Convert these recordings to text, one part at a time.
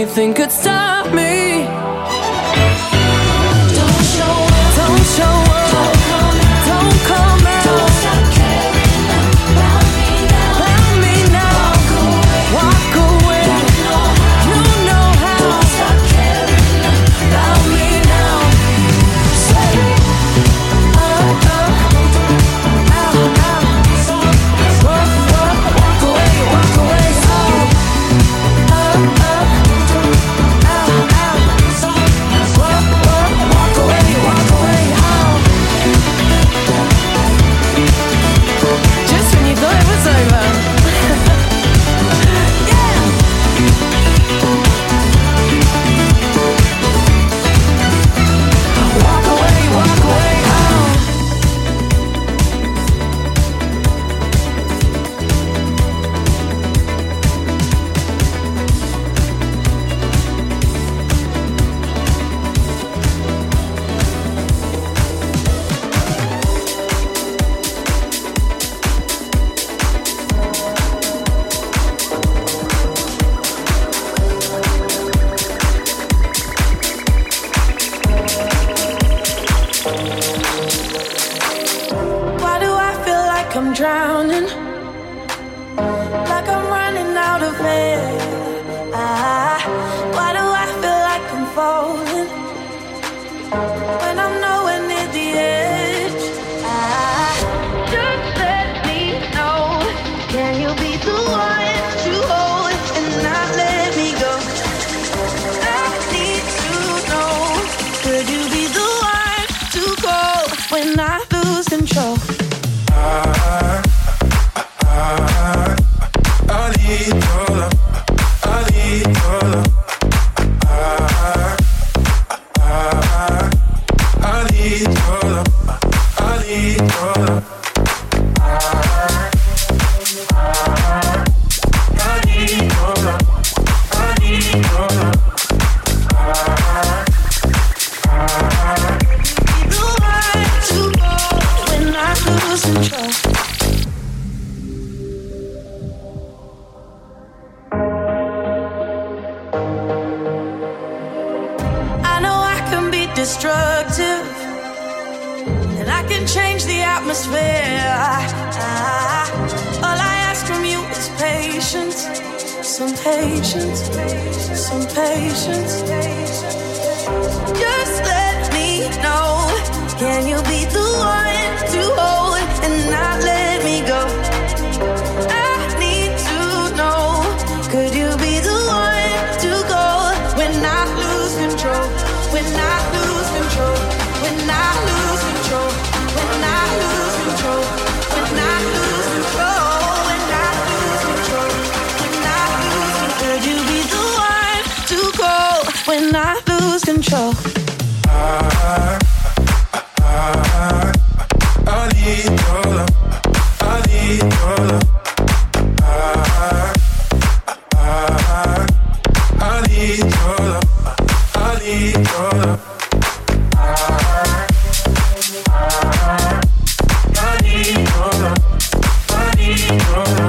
anything could stop me. Don't show up, don't show up, don't come out, don't come out. Don't stop caring about me now, about me now. Walk away, you know how. Don't stop caring about me now. Say up, out, out. Walk away, walk away. Up, out, out. Walk away, walk away. Just when you thought it was over. Yeah. Walk away, walk away. Why do I feel like I'm drowning? Like I'm running out of air. Why do I feel like I'm falling when I'm nowhere near the edge? Just let me know. Can you be the one to hold and not let me go? I need to know. Could you be the one to call when I lose control? I need your love. I need your love. I need your love. I need your love. I need your love. I need your love. Be the one to call when I lose control. I know I can be destructive, and I can change the atmosphere. All I ask from you is patience, some patience, some patience. Just let me know. Can you be the one to hold and not let me go? I need to know. Could you be the one to go when I lose control? When I lose control? When I lose control? When I lose control? When I lose control? When I lose control? When I lose control? Could you be the one to go when I lose control? I need your love. I need your love. I need your love. I need your love. I need your love. I need your love.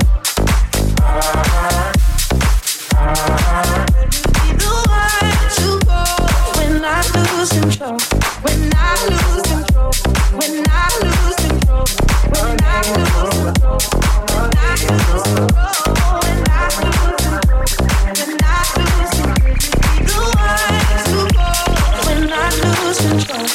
Be the one to go when I lose control. When I lose control. When I lose control. When I lose control. When I lose control. When I lose control. When I lose control. Be the one to go when I lose control.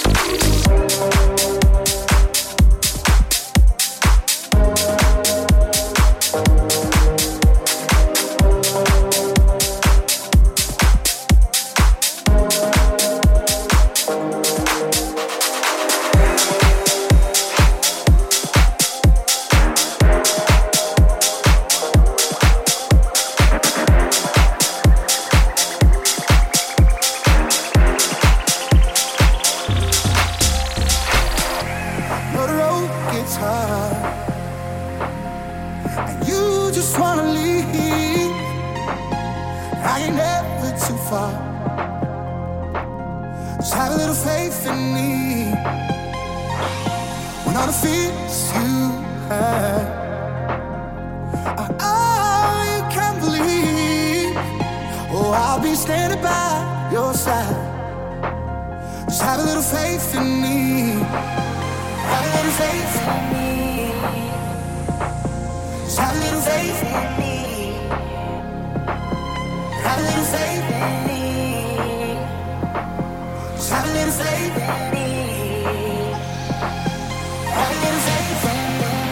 Know the road gets hard, and you just wanna leave. I ain't never too far. Just have a little faith in me. When all the fears you have are all you can believe. Oh, I'll be standing by your side. Just have a little faith in me. Have a little faith in me. Just have a little faith in me. Have a little faith in me. Just have a little faith in me. Have a little faith in me.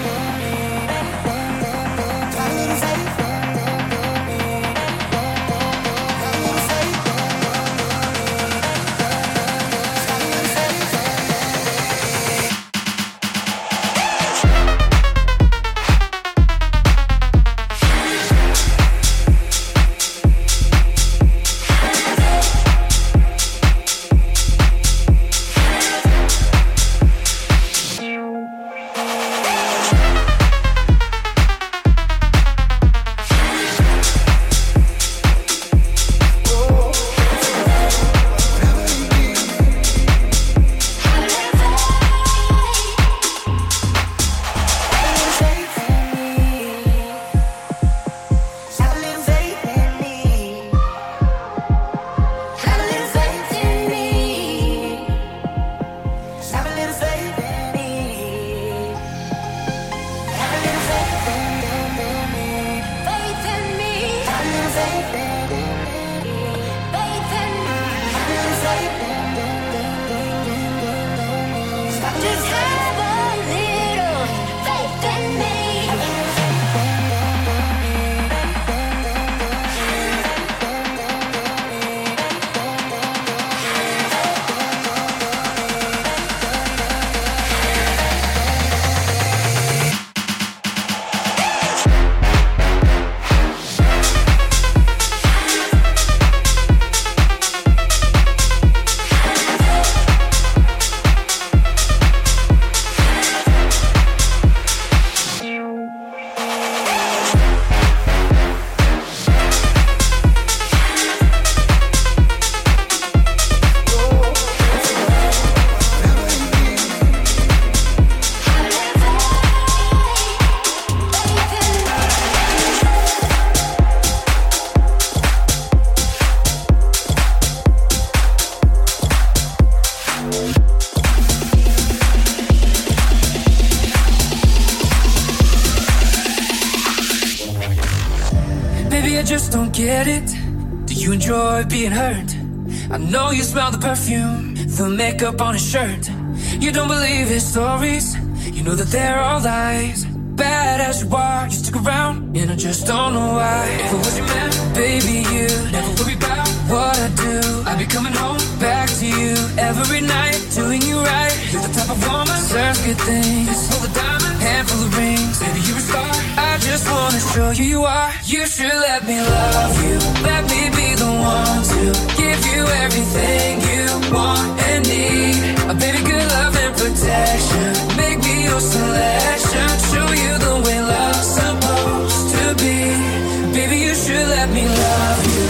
Get it? Do you enjoy being hurt? I know you smell the perfume, the makeup on his shirt. You don't believe his stories, you know that they're all lies. Bad as you are, you stick around, and I just don't know why. If I was your man, baby, you never worry about what I do. I'd be coming home back to you every night, doing you right. You're the type of woman deserves good things, full of diamonds, handful of rings. Baby, you're a star. I just wanna show you you are. You should let me love you. Let me be the one to give you everything you want and need. A baby, good love and protection. Make me your selection. Show you the way love's supposed to be. Baby, you should let me love you.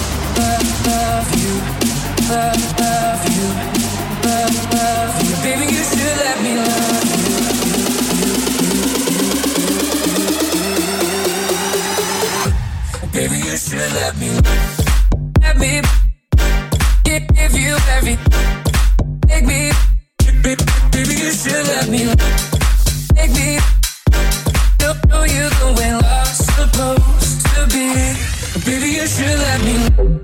Love you. Love you. Love you. Baby, you should let me love you. Baby, you should let me give you every. Make me, baby, you should let me make me know you the way love's supposed to be. Baby, you should let me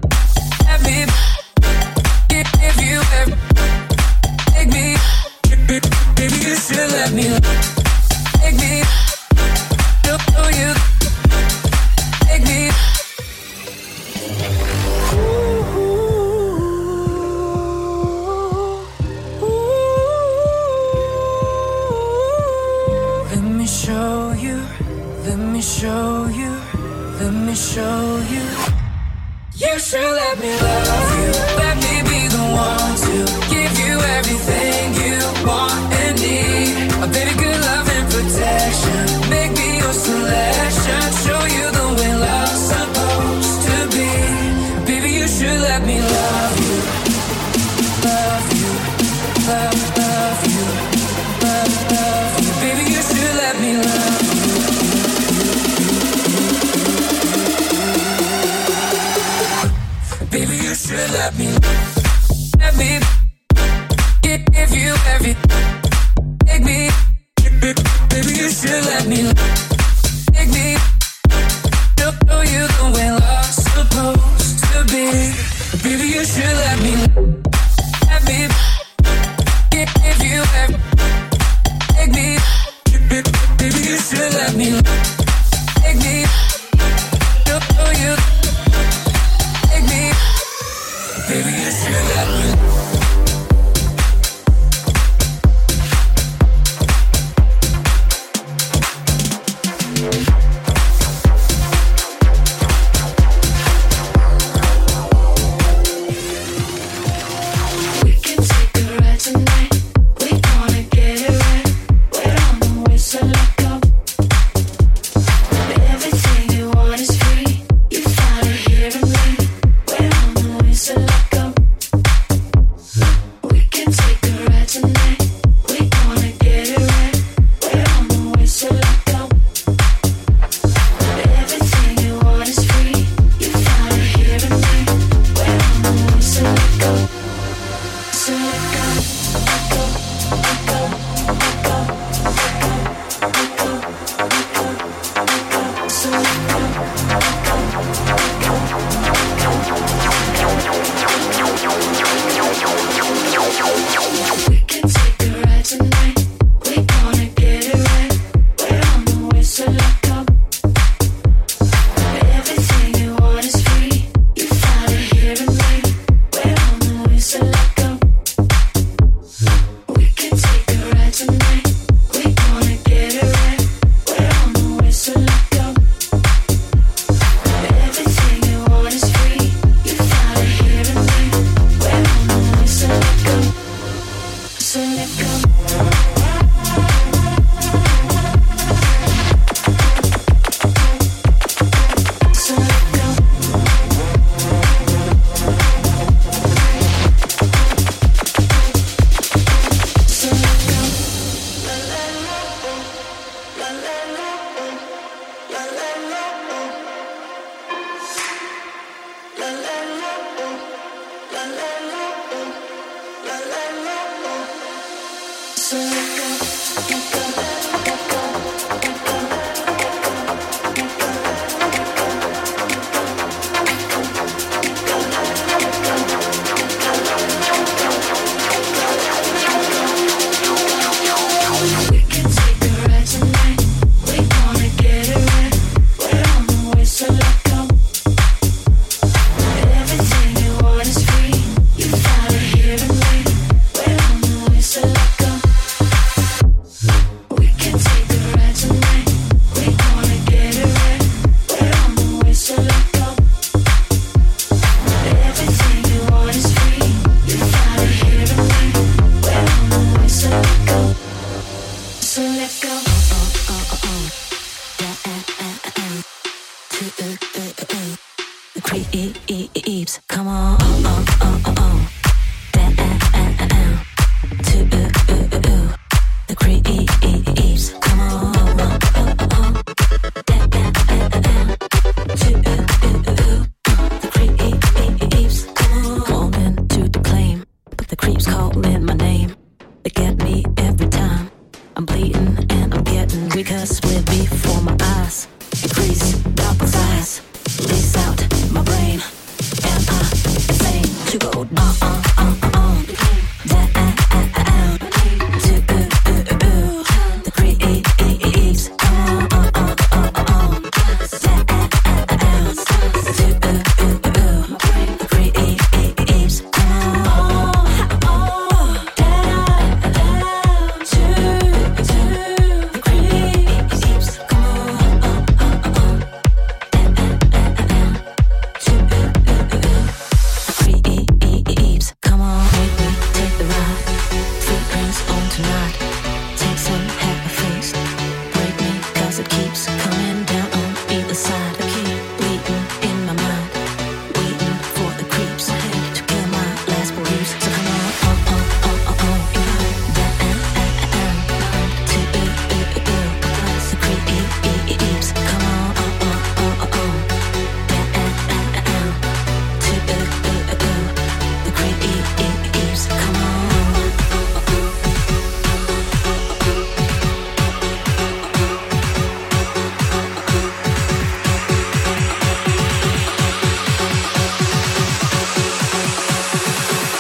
give you every. Make me, baby, you should let me make me know you. Make me. Let me show you, let me show you, let me show you. You should let me love you. Let me be the one to give you everything you want and need. A baby, good love and protection. Make me your selection. Show you the way love's supposed to be. Baby, you should let me love you. Love you. Love you. Love you. Baby, you should let me love you. Baby, you should let me give you every. Take me, baby, you should let me take me. Show you the way love's supposed to be. Baby, you should let me give you every. Take me, baby, you should let me take me. Show you, take me, baby, you should let me.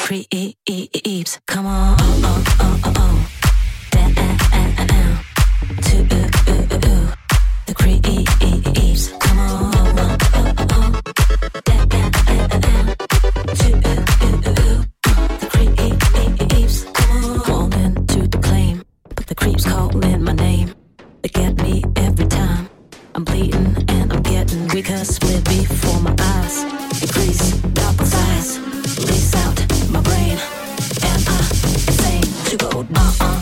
creeps. Come on, down to the creeps. Come on, down to the creeps. Come on, calling to the claim, but the creeps calling my name. They get me every time. I'm bleeding and I'm getting weaker. Split before my eyes increase, double size. Lace out my brain, and I insane to go down to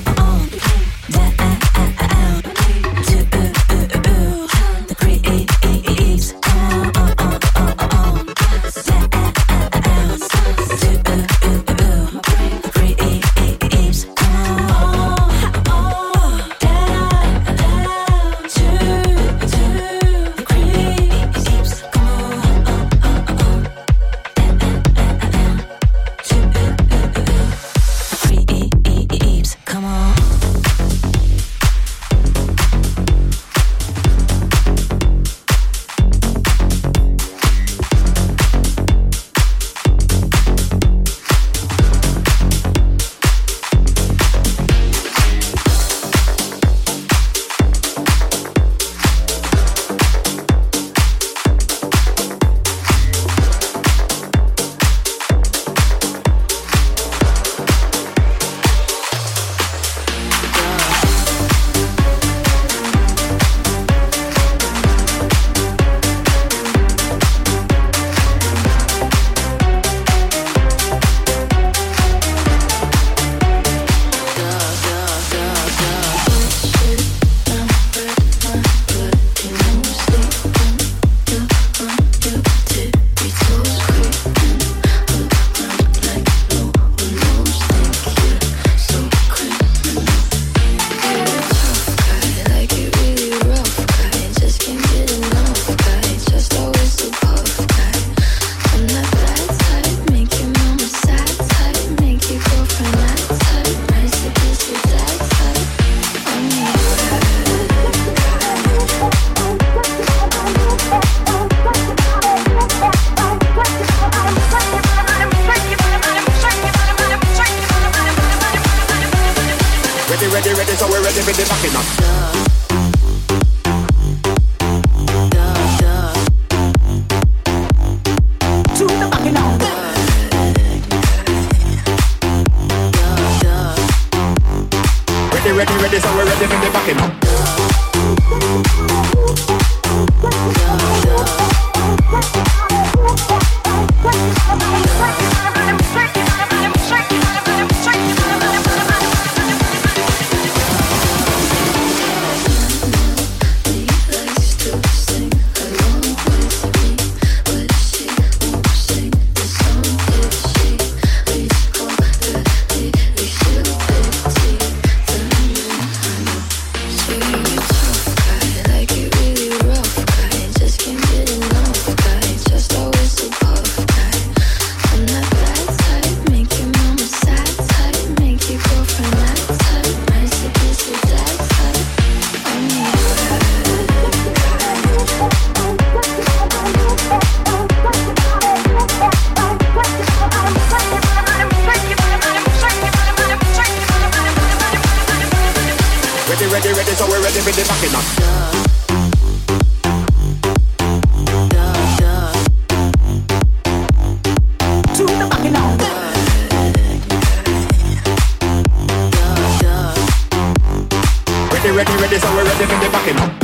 the creeps. Come on, down to the creeps. Come on, down to the creeps. Come on. Ready, so we're ready for the backing up. To the backing up. Ready, so we're ready for the backing up. Ready, so we're ready for the backing up. To the backing up. Ready, so we're ready for the backing up.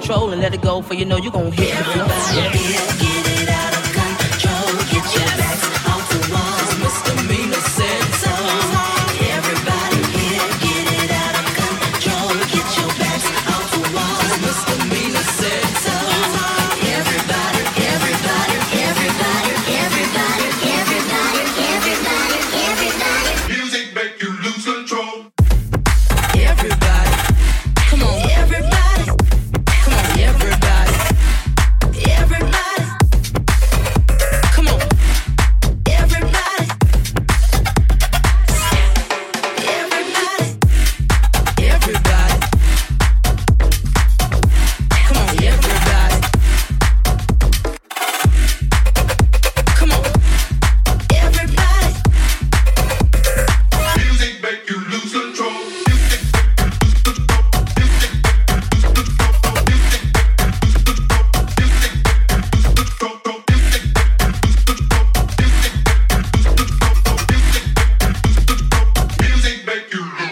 control and let it go, for you know you gon' hit the floor. Everybody get it out of control. Get your backs off the walls. Misdemeanor said so. Everybody here, get it out of control. Get your backs off the walls. Misdemeanor said so. Everybody, everybody, everybody, everybody, everybody, everybody, everybody. Music make you lose control. Everybody, come on, Everybody, come on, everybody, everybody, come on. everybody, everybody, Everybody, come on, everybody, come on. everybody. Music make you lose control. Music make you lose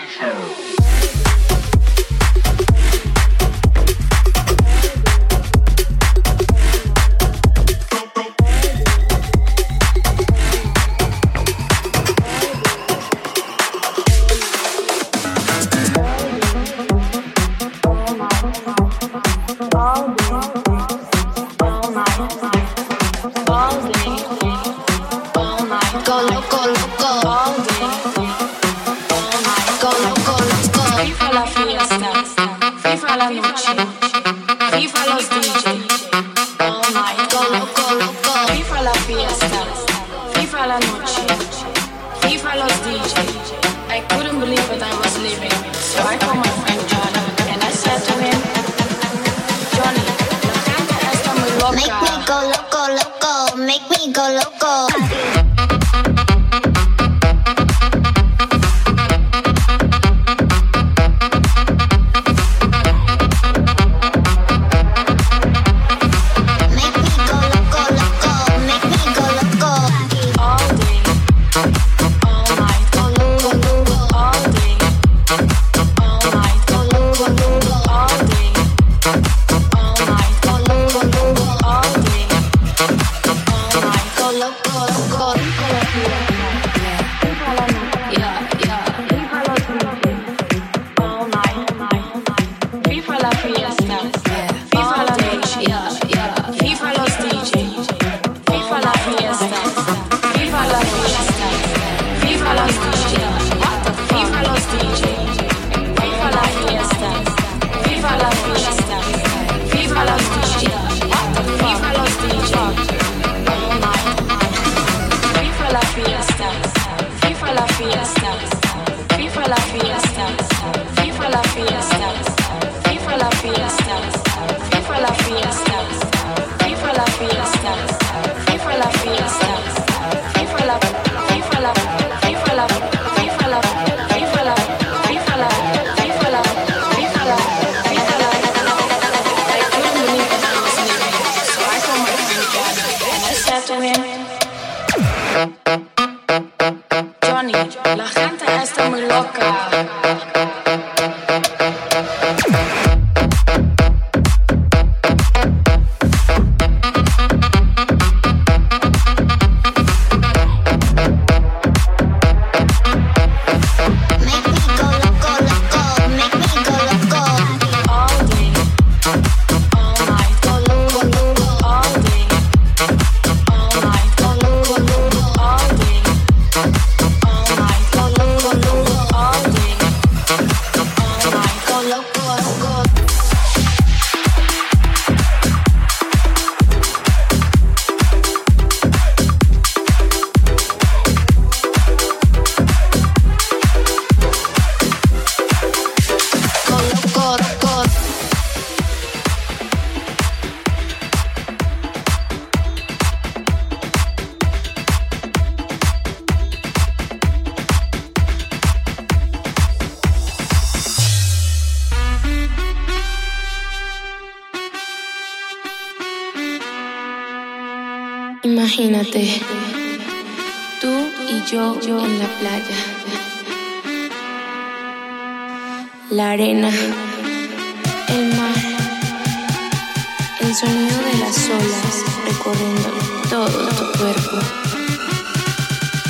Go loco, loco. All day, all night. Go loco, loco. FIFA la fiesta, FIFA la noche, FIFA los DJ, all night. Go loco, loco. FIFA la fiesta, FIFA la noche, FIFA los DJ. I couldn't believe that I was leaving, so I called my friend Johnny and I said to him, Johnny, la gente está muy loca. Make me go loco, loco. Make me go loco. Make me go loco, loco. Make me go loco. All day, all night, Go loco, loco. all day, all night, Go loco, loco. all day, all night, Go loco, loco. all day, all night. Go loco, loco. Yeah, yeah. All night, FIFA la fiesta, FIFA la noche, FIFA los DJ, FIFA la fiesta, FIFA la fiesta, FIFA los DJ, FIFA los DJ, FIFA la fiesta, FIFA la fiesta, FIFA los DJ, FIFA los DJ, all night, FIFA la fiesta, FIFA la fiesta, FIFA la fiesta, FIFA la fiesta, FIFA la fiesta, FIFA la fiesta, FIFA la fiesta, FIFA la fiesta, FIFA la, FIFA la, FIFA la, FIFA la, FIFA la, FIFA la, FIFA la, FIFA la, FIFA la. I couldn't believe that I was leaving, so I called my friend Johnny and I said to him, Johnny, la gente está muy loca. Make me go loco, loco. Make me go loco. All day, all night, Go loco, loco. all day, all night, Go loco, loco. all day, all night, Go loco, loco. all day, all night. Go loco, loco. Go loco, loco. Imagínate, tú y yo en la playa, la arena, el mar, El sonido de las olas recorriendo todo tu cuerpo.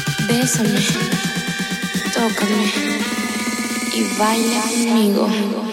Bésame, tócame y baila conmigo.